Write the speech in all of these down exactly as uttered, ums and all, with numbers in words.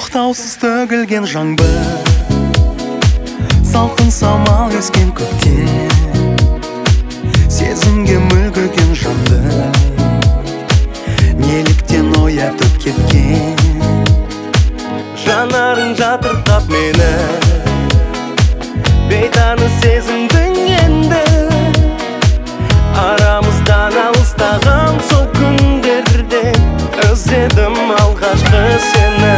тоқтаусыз төгілген жаңбыр, салқын самал ескен көктем, сезімге мүлгіген жанды неліктен оятып кеткен. Жанарың жатырқап мені, бейтаныс сезімдің енді, арамыздан алыстаған сол күндерде іздедім алғашқы сені.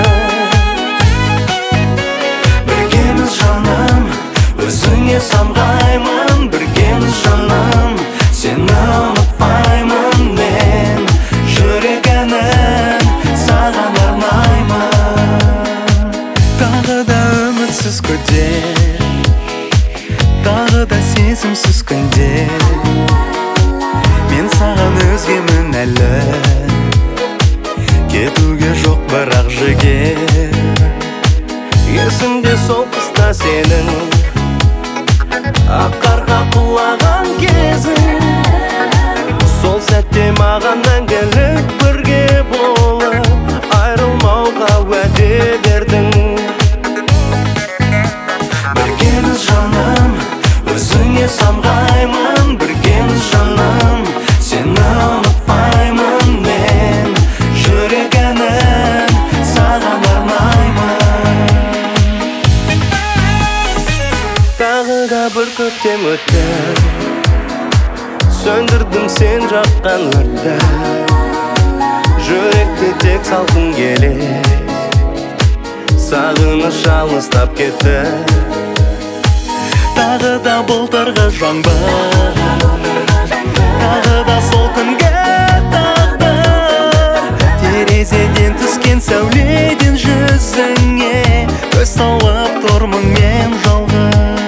Біргеміз жаным, өзіңе самғаймын, біргеміз жаным, сені ұмытпаймын мен, жүрек әнін саған арнаймын. Тағы да үмітсіз күдер, тағы да сезімсіз күндер, мен саған өзгемін әлі, кетуге жоқ бірақ жігер. Есімде сол қыста сенің ақ қарға құлаған кезің, сол сәтте маған мәңгілік бірге болып айрылмауға уәде бердің. Біргеміз жаным, өзіңе самғаймын, біргеміз жаным, сені ұмытпаймын мен, жүрек әнін саған арнаймын. Тағы да бір көктем өтті, сөндірдім сен жаққан өртті, жүректе тек салқын келеді, сағыныш алыстап кетті. Тағы да былтырғы жаңбыр, тағы да сол күнге тағдыр, терезеден түскен сәуледен жүзіңе көз салып тұрмын мен жалғыз.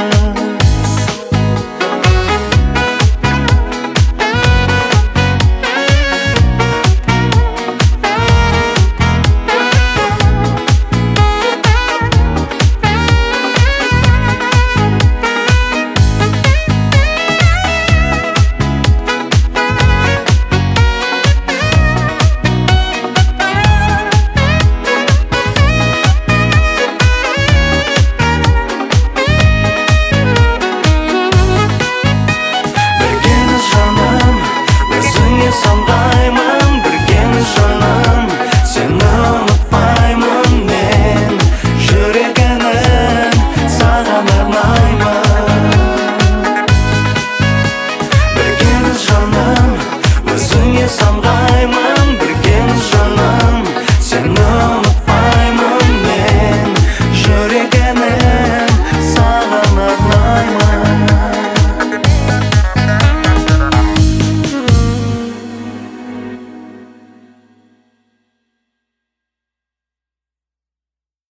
Самғаймын, біргеміз жаным, сені ұмытпаймын мен, жүрек әнін саған арнаймын. Біргеміз жаным, өзіңе самғаймын.